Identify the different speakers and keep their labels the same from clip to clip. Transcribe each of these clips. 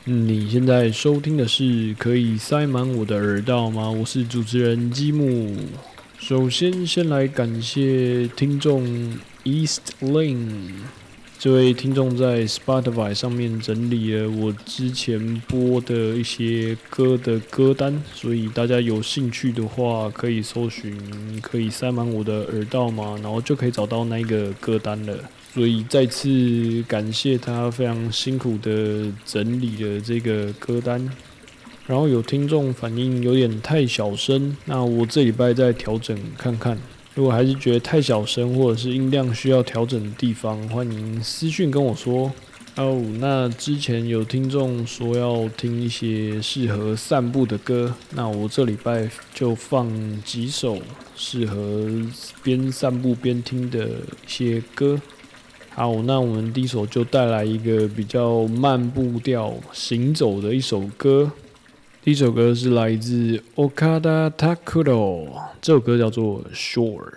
Speaker 1: 你现在收听的是可以塞满我的耳道吗？我是主持人积木。首先来感谢听众 East Lane 这位听众在 Spotify 上面整理了我之前播的一些歌的歌单，所以大家有兴趣的话可以搜寻可以塞满我的耳道吗？然后就可以找到那个歌单了。所以再次感谢他非常辛苦的整理了这个歌单，然后有听众反映有点太小声，那我这礼拜再调整看看。如果还是觉得太小声或者是音量需要调整的地方，欢迎私讯跟我说。那之前有听众说要听一些适合散步的歌，那我这礼拜就放几首适合边散步边听的一些歌。好，那我们第一首就带来一个比较慢步调行走的一首歌。第一首歌是来自 Okada Takuro， 这首歌叫做 Shore。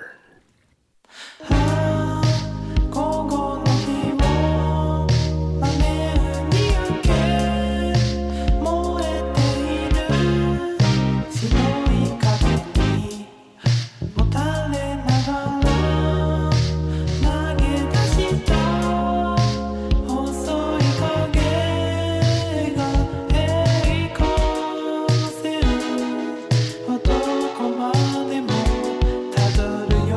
Speaker 2: どこまでもたどるよ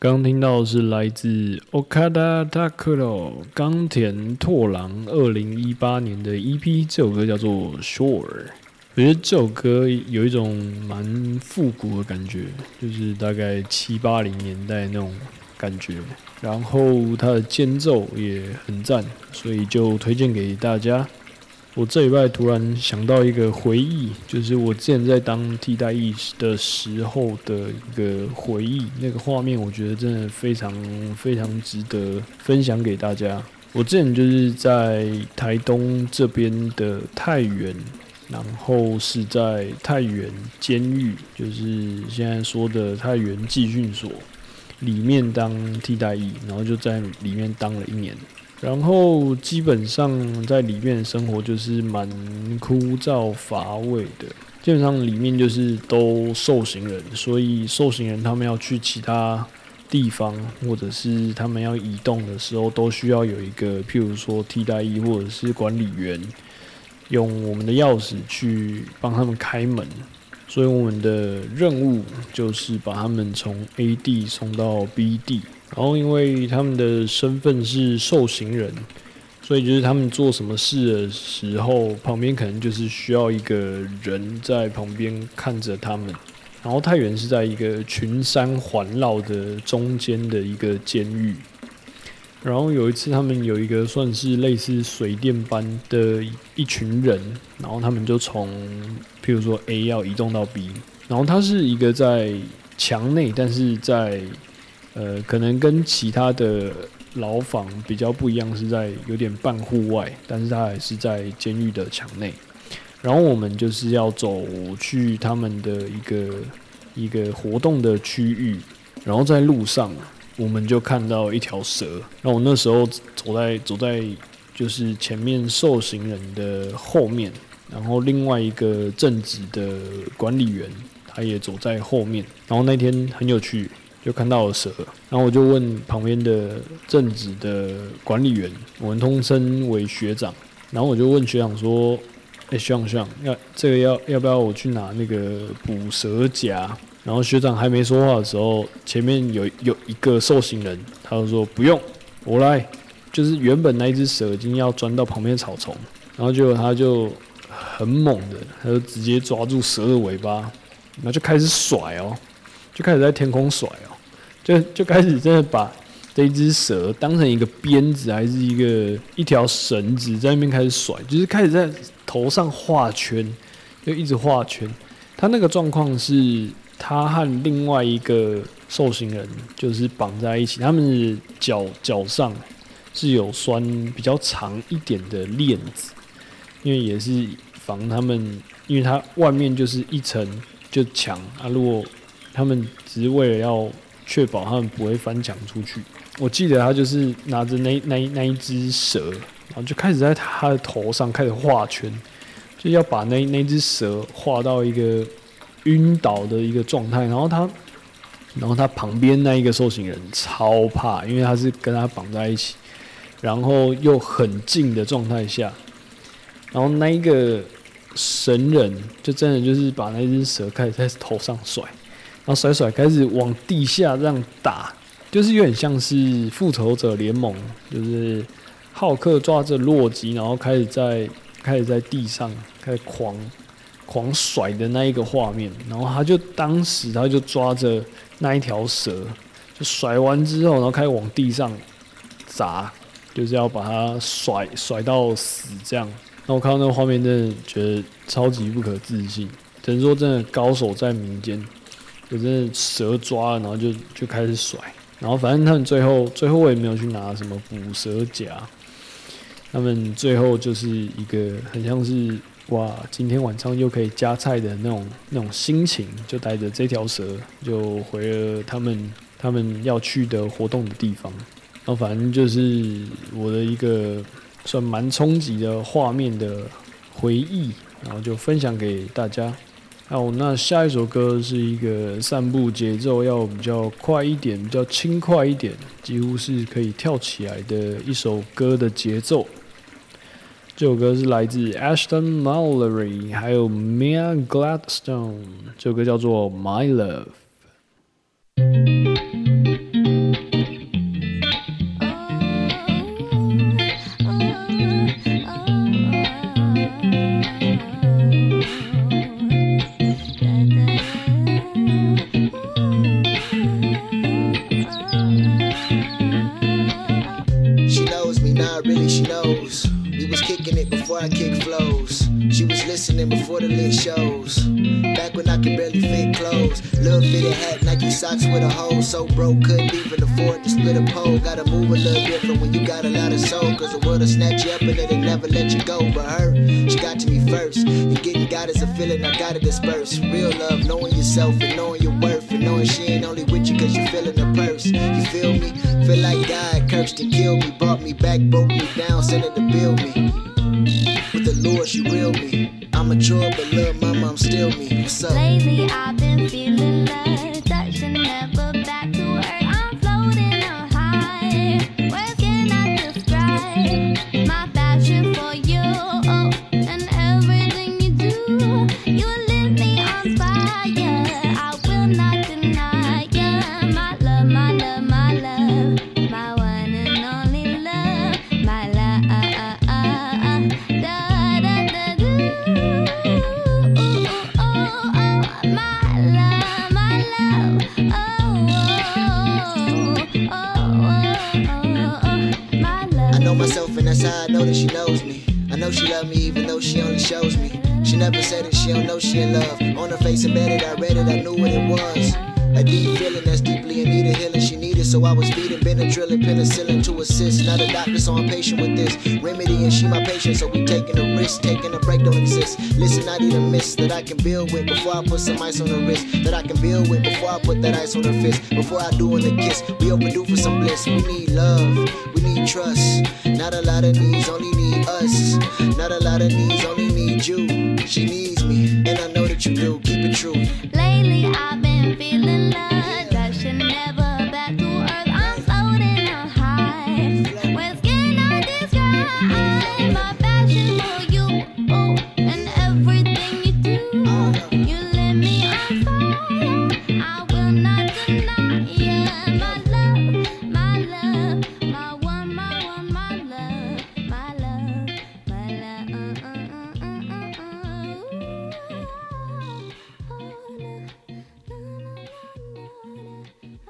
Speaker 1: 刚听到的是来自 Okada Takuro 冈田拓郎2018年的 EP， 这首歌叫做 Shore。我觉得这首歌有一种蛮复古的感觉，就是大概7、80年代那种感觉，然后它的间奏也很赞，所以就推荐给大家。我这礼拜突然想到一个回忆，就是我之前在当替代役的时候的一个回忆，那个画面我觉得真的非常非常值得分享给大家。我之前就是在台东这边的太原，然后是在太原监狱，就是现在说的太原寄训所里面当替代役，然后就在里面当了1年。然后基本上在里面的生活就是蛮枯燥乏味的，基本上里面就是都受刑人，所以受刑人他们要去其他地方，或者是他们要移动的时候，都需要有一个譬如说替代役或者是管理员，用我们的钥匙去帮他们开门。所以我们的任务就是把他们从 A 地送到 B 地。然后因为他们的身份是受刑人，所以就是他们做什么事的时候，旁边可能就是需要一个人在旁边看着他们。然后太原是在一个群山环绕的中间的一个监狱。然后有一次他们有一个算是类似水电般的一群人，然后他们就从譬如说 A 要移动到 B， 然后它是一个在墙内，但是在可能跟其他的牢房比较不一样，是在有点半户外，但是它还是在监狱的墙内。然后我们就是要走去他们的一个活动的区域，然后在路上我们就看到一条蛇。然后我那时候走在就是前面受刑人的后面，然后另外一个正职的管理员他也走在后面。然后那天很有趣，就看到了蛇，然后我就问旁边的正职的管理员，我们通称为学长，然后我就问学长说：“学长，这个要不要我去拿那个捕蛇夹？”然后学长还没说话的时候，前面有一个受刑人，他就说：“不用，我来。”就是原本那一只蛇已经要钻到旁边的草丛，然后结果他就很猛的，他就直接抓住蛇的尾巴，然后就开始甩哦，就开始在天空甩哦。就开始真的把这一只蛇当成一个鞭子，还是一条绳子，在那边开始甩，就是开始在头上画圈，就一直画圈。他那个状况是，他和另外一个受刑人就是绑在一起，他们的脚上是有拴比较长一点的链子，因为也是防他们，因为它外面就是一层就墙啊，如果他们只是为了要确保他们不会翻墙出去。我记得他就是拿着那一只蛇，然后就开始在他的头上开始画圈，就要把那只蛇画到一个晕倒的一个状态。然后他旁边那一个受刑人超怕，因为他是跟他绑在一起，然后又很近的状态下，然后那一个神人就真的就是把那只蛇开始在头上甩。然后甩开始往地下这样打，就是有点像是复仇者联盟，就是浩克抓着洛基，然后开始在地上开始狂甩的那一个画面。然后当时他就抓着那一条蛇，就甩完之后，然后开始往地上砸，就是要把它甩到死这样。那我看到那个画面，真的觉得超级不可置信，只能说真的高手在民间。就真的蛇抓了，然后就开始甩，然后反正他们最后我也没有去拿什么捕蛇夹，他们最后就是一个很像是哇，今天晚上又可以加菜的那种心情，就带着这条蛇就回了他们要去的活动的地方。然后反正就是我的一个算蛮冲击的画面的回忆，然后就分享给大家。好，那下一首歌是一个散步节奏要比较快一点、比较轻快一点，几乎是可以跳起来的一首歌的节奏。这首歌是来自 Ashton Mallory 还有 Mia Gladstone， 这首歌叫做《My Love》。
Speaker 2: modeling shows. Back when I could barely fit clothes. Little fitted hat, Nike socks with a hole. So broke, couldn't even afford to split a pole. Gotta move a little different when you got a lot of soul. Cause the world'll snatch you up and it'll never let you go. But her, she got to me first. And getting God is a feeling I gotta disperse. Real love, knowing yourself and knowing your worth. And knowing she ain't only with you cause you feeling the purse. You feel me? Feel like God cursed and killed me. Brought me back, broke me down, sent her to build me. With the Lord, she real me. I'm mature, but little mama, I'm still me. What's up?
Speaker 3: Lately, I've been feeling love. Touching never back to earth. I'm floating on high. Words cannot describe my passion for you. Oh, and everything you do. You lit me on fire. I will not deny ya. My love, my love, my love. My one and only love. My love.
Speaker 2: I know myself and that's how I know that she knows me. I know she love me even though she only shows me. She never said it, she don't know she in love. On her face embedded, I read it, I knew what it was. A deep feeling that's deeply in need of healing she needed. So I was feeding Benadryl and penicillin to assist. Not a doctor, so I'm patient with this remedy, and she my patient, so we taking a risk. Taking a break don't exist. Listen, I need a mist that I can build with before I put some ice on her wrist. That I can build with before I put that ice on her fist. Before I do on the kiss, we overdue for some bliss. We need love, we need trust. Not a lot of needs, only need us. Not a lot of needs, only need you. She needs me, and I know that you do. Keep it true.
Speaker 3: Lately I've been feeling love, touching never back to earth. I'm floating on high. Words cannot describe my passion for you. Oh, and everything you do. You lit me on fire. I will not deny ya. My love, my love, my one, my one, my love, my love, my love.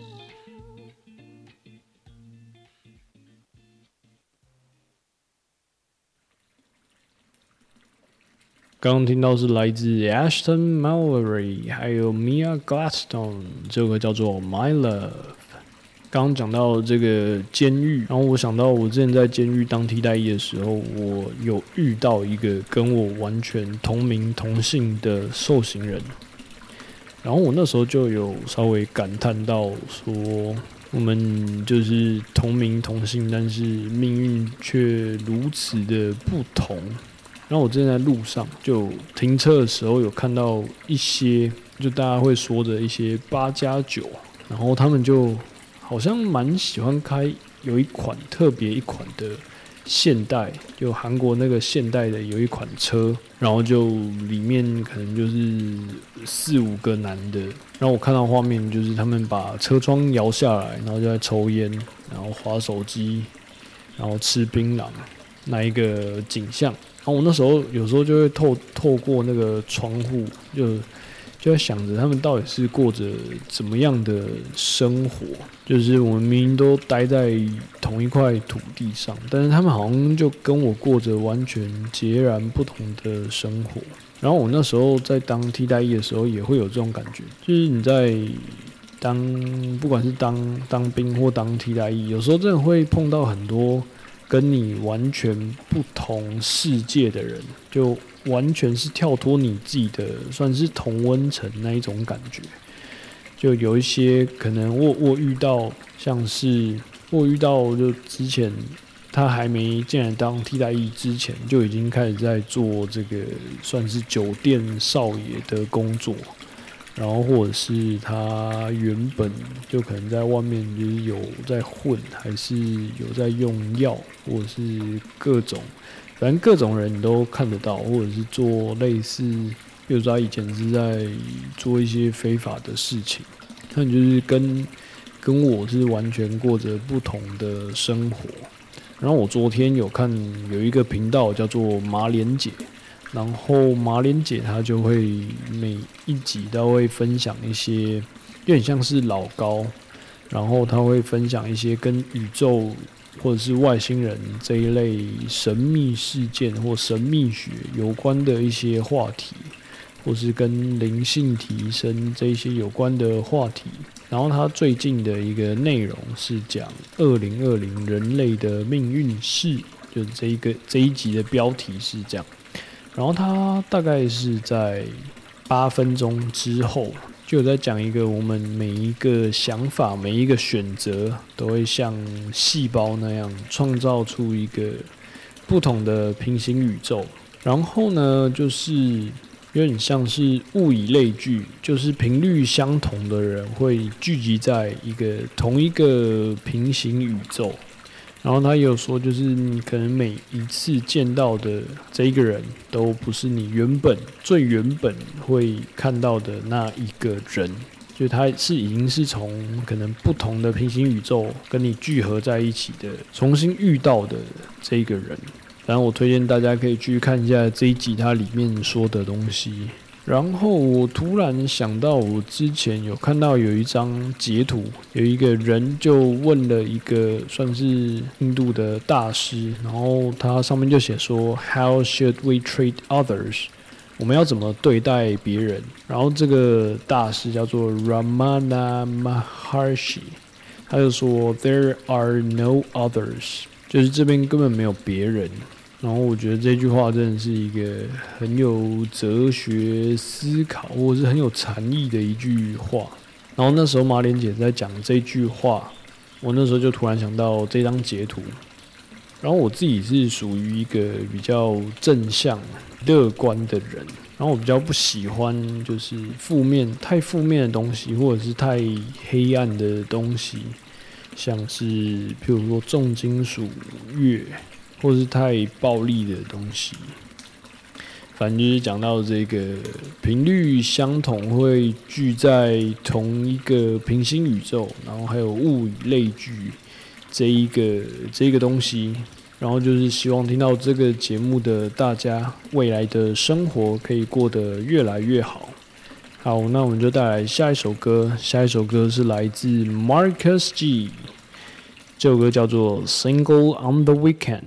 Speaker 1: 刚刚听到是来自 Ashton Mallory 还有 Mia Gladstone， 这首歌叫做 My Love。刚刚讲到这个监狱，然后我想到我之前在监狱当替代役的时候，我有遇到一个跟我完全同名同姓的受刑人，然后我那时候就有稍微感叹到说，我们就是同名同姓，但是命运却如此的不同。然后我之前在路上就停车的时候有看到一些，就大家会说的一些8+9，然后他们就好像蛮喜欢开有一款特别一款的现代，就韩国那个现代的有一款车，然后就里面可能就是4-5个男的，然后我看到画面就是他们把车窗摇下来，然后就在抽烟，然后滑手机，然后吃槟榔，那一个景象。然后我那时候有时候就会透过那个窗户，就在想着他们到底是过着怎么样的生活。就是我们明明都待在同一块土地上，但是他们好像就跟我过着完全截然不同的生活。然后我那时候在当替代役的时候，也会有这种感觉，就是你在不管是当兵或当替代役，有时候真的会碰到很多跟你完全不同世界的人，就完全是跳脱你自己的，算是同温层那一种感觉。就有一些可能我遇到，像是我遇到就之前他还没进来当替代役之前，就已经开始在做这个算是酒店少爷的工作。然后或者是他原本就可能在外面就是有在混，还是有在用药，或者是各种，反正各种人你都看得到，或者是做类似，比如说他以前是在做一些非法的事情，那你就是跟我是完全过着不同的生活。然后我昨天有看有一个频道叫做马莲姐。然后马莲姐她就会每一集都会分享一些有点像是老高，然后她会分享一些跟宇宙或者是外星人这一类神秘事件或神秘学有关的一些话题，或是跟灵性提升这一些有关的话题。然后他最近的一个内容是讲2020人类的命运史，就是这一集的标题是这样。然后他大概是在8分钟之后，就有在讲一个我们每一个想法、每一个选择，都会像细胞那样创造出一个不同的平行宇宙。然后呢，就是有点像是物以类聚，就是频率相同的人会聚集在同一个平行宇宙。然后他也有说，就是你可能每一次见到的这一个人，都不是你最原本会看到的那一个人，就他已经是从可能不同的平行宇宙跟你聚合在一起的，重新遇到的这一个人。然后我推荐大家可以去看一下这一集它里面说的东西。然后我突然想到，我之前有看到有一张截图，有一个人就问了一个算是印度的大师，然后他上面就写说 How should we treat others？ 我们要怎么对待别人？然后这个大师叫做 Ramana Maharshi， 他就说 There are no others， 就是这边根本没有别人。然后我觉得这句话真的是一个很有哲学思考，或者是很有禅意的一句话。然后那时候马莲姐在讲这句话，我那时候就突然想到这张截图。然后我自己是属于一个比较正向、乐观的人，然后我比较不喜欢就是太负面的东西，或者是太黑暗的东西，像是譬如说重金属乐。或是太暴力的东西，反正就是讲到这个频率相同会聚在同一个平行宇宙，然后还有物以类聚这一个东西，然后就是希望听到这个节目的大家未来的生活可以过得越来越好。好，那我们就带来下一首歌，是来自 Marcus G。这首歌叫做《Single on the Weekend》。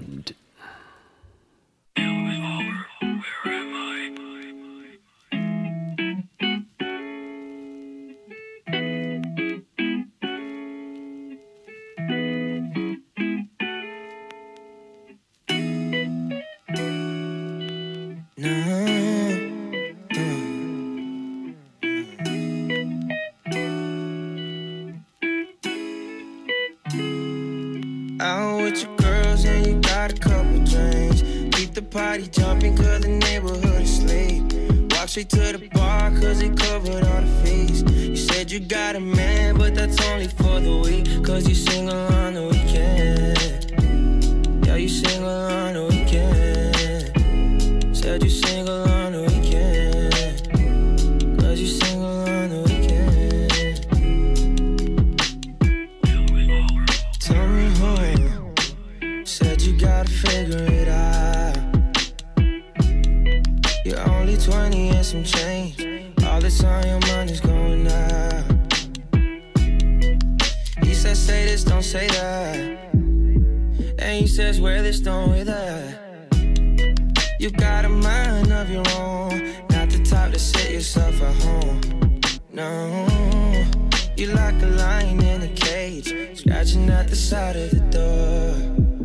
Speaker 4: Out with your girls and you got a couple drinks. Keep the party jumping cause the neighborhood is asleep. Walk straight to the bar cause they covered all the fees. You said you got a man but that's only for the week. Cause you single on the weekend. Yeah, you single on the weekend. Said you single on the weekend. Cause you single on the weekend. Tell me who said you gotta figure it out. You're only 20 and some change. All the time your money's going out. He says say this, don't say that. And he says wear this, don't wear that. You got a mind of your own, not the type to sit yourself at home. No, you like a lion in a cage, scratching at the side of the door.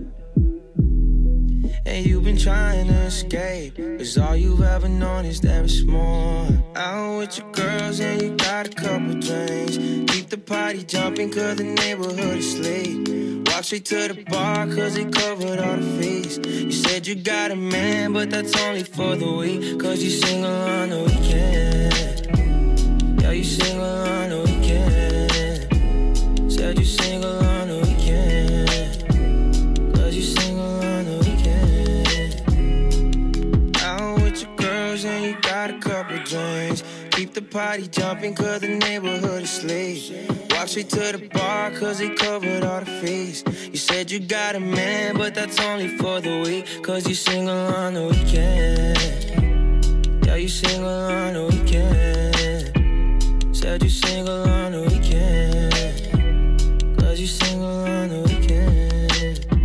Speaker 4: And you've been trying to escape, cause all you've ever known is there is more. Out with your girls and you got a couple drinks. Keep the party jumping cause the neighborhood is asleep. Walk straight to the bar cause they covered all the fees. You said you got a man but that's only for the week. Cause you single on the weekend. Yeah, you single on the weekend. Said you single on the weekend. Cause you single on the weekend. Out with your girls and you got a couple drinks. Keep the party jumping cause the neighborhood is asleep. Walk straight to the bar cause they covered all the fees. You said you got a man but that's only for the week. Cause you single on the weekend. Yeah, you single on the weekend. Said you single on the weekend. Cause you single on the weekend.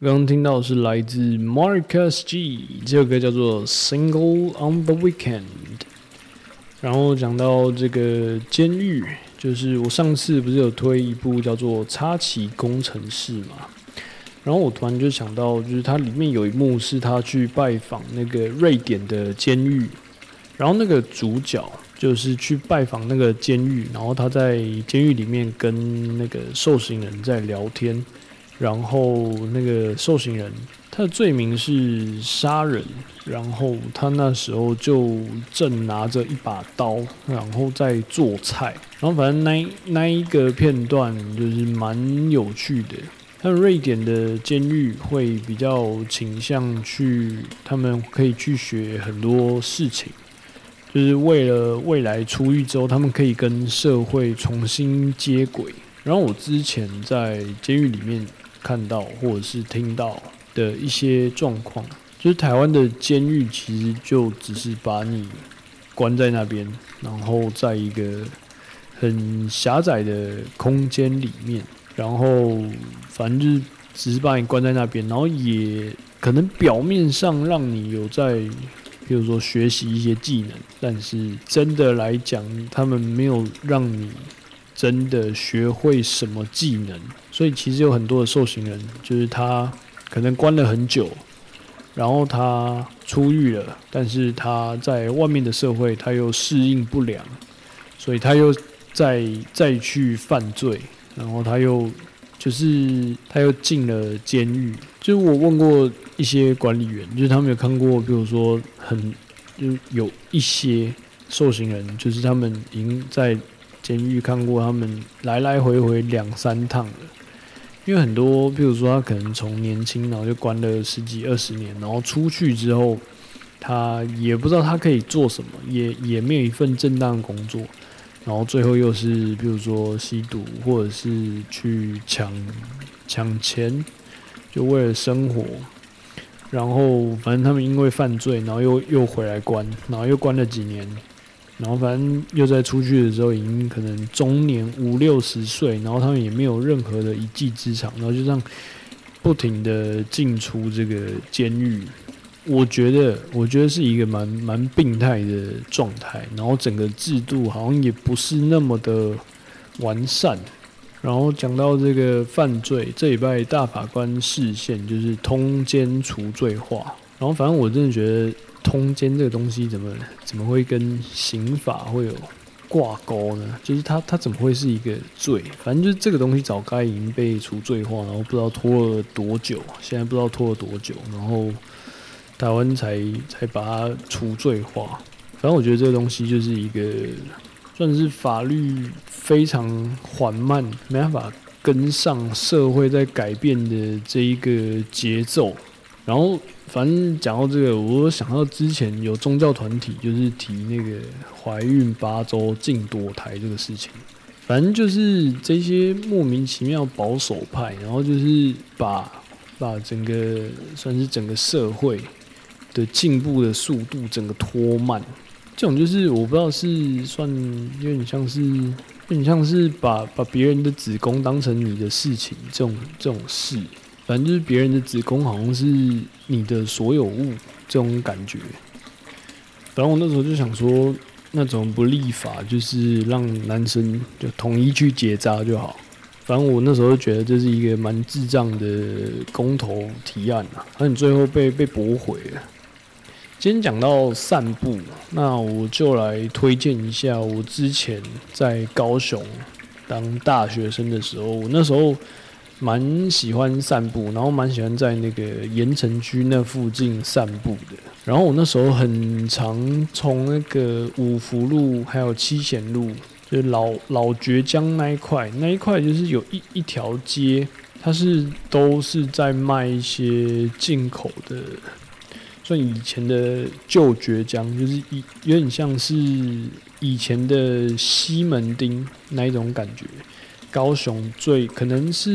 Speaker 1: 刚刚听到的是来自 Marcus G， 这首歌叫做 Single on the Weekend。然后讲到这个监狱，就是我上次不是有推一部叫做《插旗工程师》嘛，然后我突然就想到，就是它里面有一幕是他去拜访那个瑞典的监狱，然后那个主角就是去拜访那个监狱，然后他在监狱里面跟那个受刑人在聊天，然后那个受刑人他的罪名是杀人，然后他那时候就正拿着一把刀，然后在做菜，然后反正那一个片段就是蛮有趣的。但瑞典的监狱会比较倾向去，他们可以去学很多事情，就是为了未来出狱之后，他们可以跟社会重新接轨。然后我之前在监狱里面看到或者是听到的一些状况，就是台湾的监狱其实就只是把你关在那边，然后在一个很狭窄的空间里面，然后反正就是只是把你关在那边，然后也可能表面上让你有在比如说学习一些技能，但是真的来讲，他们没有让你真的学会什么技能。所以其实有很多的受刑人，就是他可能关了很久，然后他出狱了，但是他在外面的社会他又适应不良，所以他又再去犯罪，然后他又进了监狱。就是我问过一些管理员，就是他们有看过，比如说就有一些受刑人，就是他们已经在监狱看过他们来来回回2-3趟了。因为很多，比如说他可能从年轻然后就关了10几20年，然后出去之后，他也不知道他可以做什么，也没有一份正当的工作，然后最后又是比如说吸毒，或者是去抢钱，就为了生活。然后反正他们因为犯罪，然后又回来关，然后又关了几年，然后反正又在出去的时候已经可能中年50-60岁，然后他们也没有任何的一技之长，然后就这样不停的进出这个监狱。我觉得是一个蛮病态的状态，然后整个制度好像也不是那么的完善。然后讲到这个犯罪，这礼拜大法官释宪就是通奸除罪化，然后反正我真的觉得通奸这个东西怎么会跟刑法会有挂钩呢？就是它怎么会是一个罪？反正就是这个东西早该已经被除罪化，然后不知道拖了多久，现在不知道拖了多久，然后台湾才把它除罪化。反正我觉得这个东西就是一个算是法律非常缓慢，没办法跟上社会在改变的这一个节奏。然后反正讲到这个，我想到之前有宗教团体就是提那个怀孕8周禁堕胎这个事情。反正就是这些莫名其妙保守派，然后就是把整个算是整个社会的进步的速度整个拖慢。这种就是我不知道是算有点像是把别人的子宫当成你的事情，这种事。反正就是别人的子宫好像是你的所有物这种感觉。反正我那时候就想说，那种不立法就是让男生就统一去结扎就好。反正我那时候就觉得这是一个蛮智障的公投提案啊，而你最后被驳回了。今天讲到散步，那我就来推荐一下我之前在高雄当大学生的时候，我那时候蛮喜欢散步，然后蛮喜欢在那个盐埕区那附近散步的。然后我那时候很常从那个五福路还有七贤路，就是老崛江那一块就是有一条街，它都是在卖一些进口的。算以前的旧崛江，就是有点像是以前的西门町那一种感觉。高雄可能是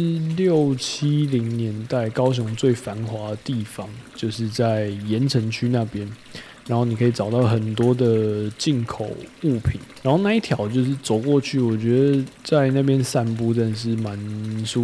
Speaker 1: 6、70年代高雄最繁华的地方，就是在盐埕区那边。然后你可以找到很多的进口物品，然后那一条就是走过去，我觉得在那边散步真的是蛮舒服的。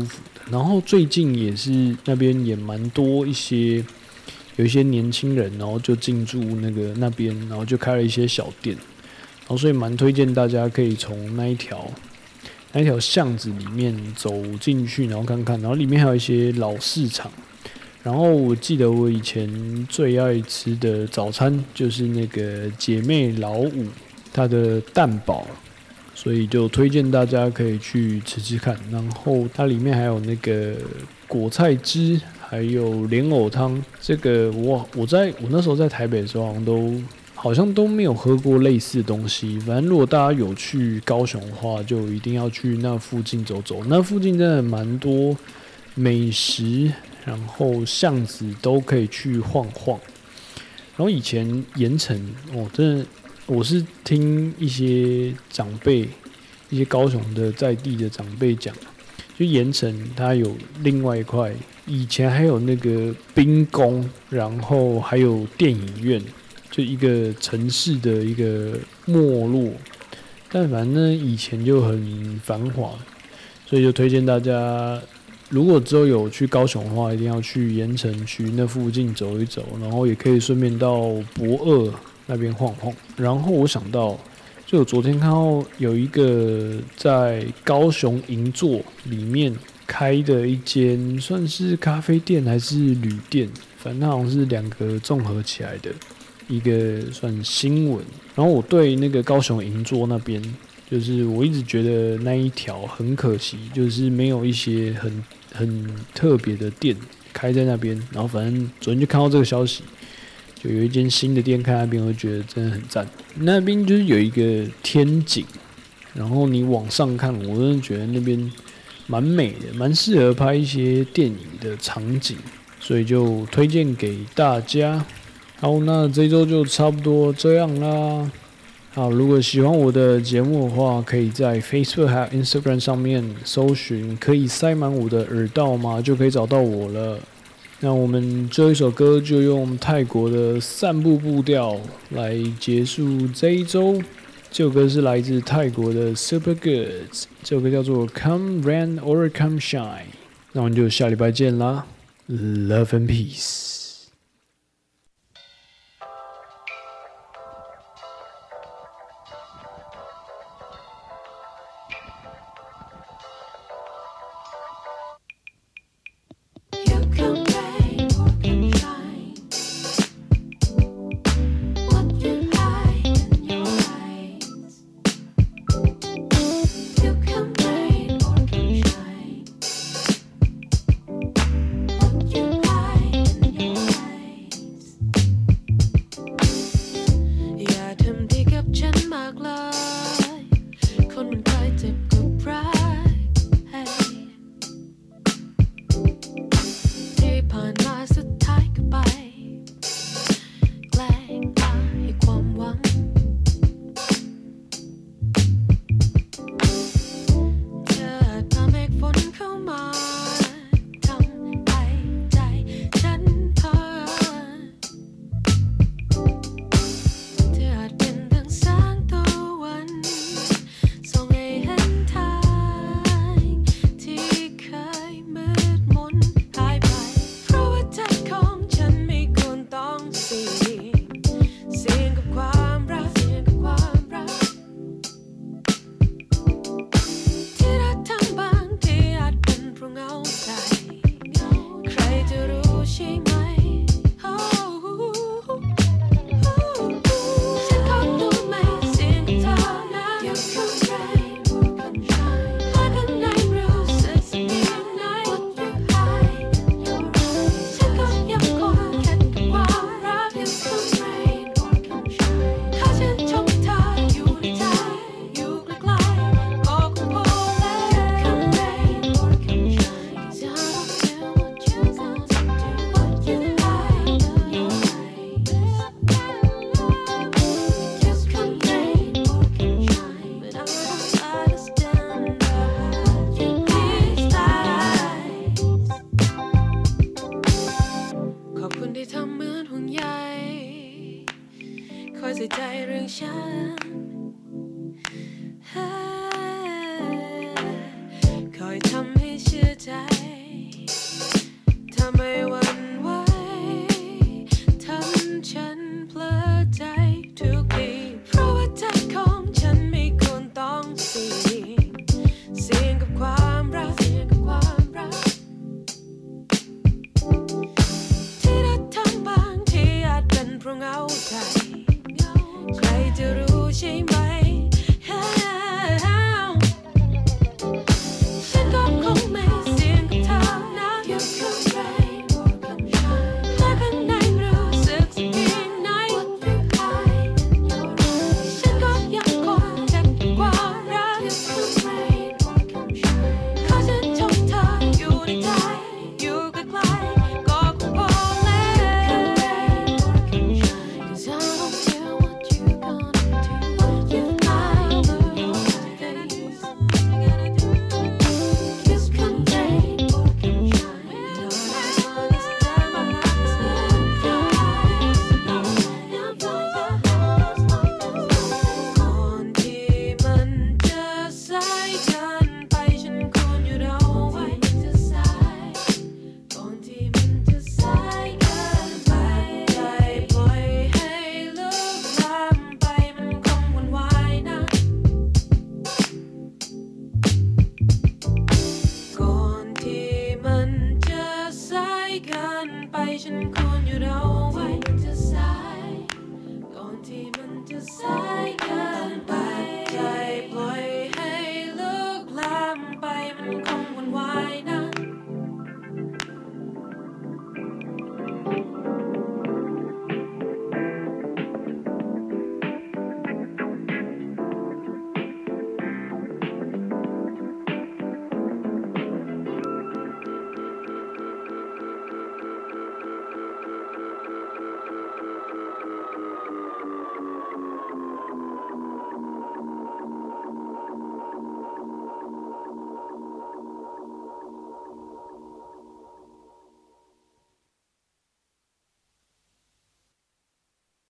Speaker 1: 然后最近也是那边也蛮多有一些年轻人，然后就进驻那边，然后就开了一些小店，然后所以蛮推荐大家可以从那一条巷子里面走进去，然后看看，然后里面还有一些老市场。然后我记得我以前最爱吃的早餐就是那个姐妹老五它的蛋堡，所以就推荐大家可以去吃吃看。然后它里面还有那个果菜汁，还有莲藕汤。这个我那时候在台北的时候好像都没有喝过类似的东西。反正如果大家有去高雄的话，就一定要去那附近走走。那附近真的蛮多美食，然后巷子都可以去晃晃。然后以前盐埕真的我是听一些长辈，一些高雄的在地的长辈讲，就盐埕它有另外一块，以前还有那个兵工，然后还有电影院，就一个城市的一个没落。但反正以前就很繁华，所以就推荐大家，如果之后有去高雄的话，一定要去盐埕区那附近走一走，然后也可以顺便到博二那边晃晃。然后我想到，就我昨天看到有一个在高雄银座里面开的一间算是咖啡店还是旅店，反正好像是两个综合起来的一个算新闻。然后我对那个高雄银座那边，就是我一直觉得那一条很可惜，就是没有一些很特别的店开在那边。然后反正昨天就看到这个消息，就有一间新的店开那边，我就觉得真的很赞。那边就是有一个天井，然后你往上看，我真的觉得那边蛮美的，蛮适合拍一些电影的场景，所以就推荐给大家。好，那这一周就差不多这样啦。好，如果喜欢我的节目的话，可以在 Facebook 还有 Instagram 上面搜寻可以塞满我的耳道吗，就可以找到我了。那我们这一首歌就用泰国的散步步调来结束这一周。这首歌是来自泰国的 Super Goods， 这首歌叫做 Come Rain or Come Shine。那我们就下礼拜见啦 ，Love and Peace。
Speaker 5: ใส่ใจเรื่องฉันคอยทำให้เชื่อใจฉันควรหยุดเอาไว้มันจะสายก่อนที่มันจะสายเกิ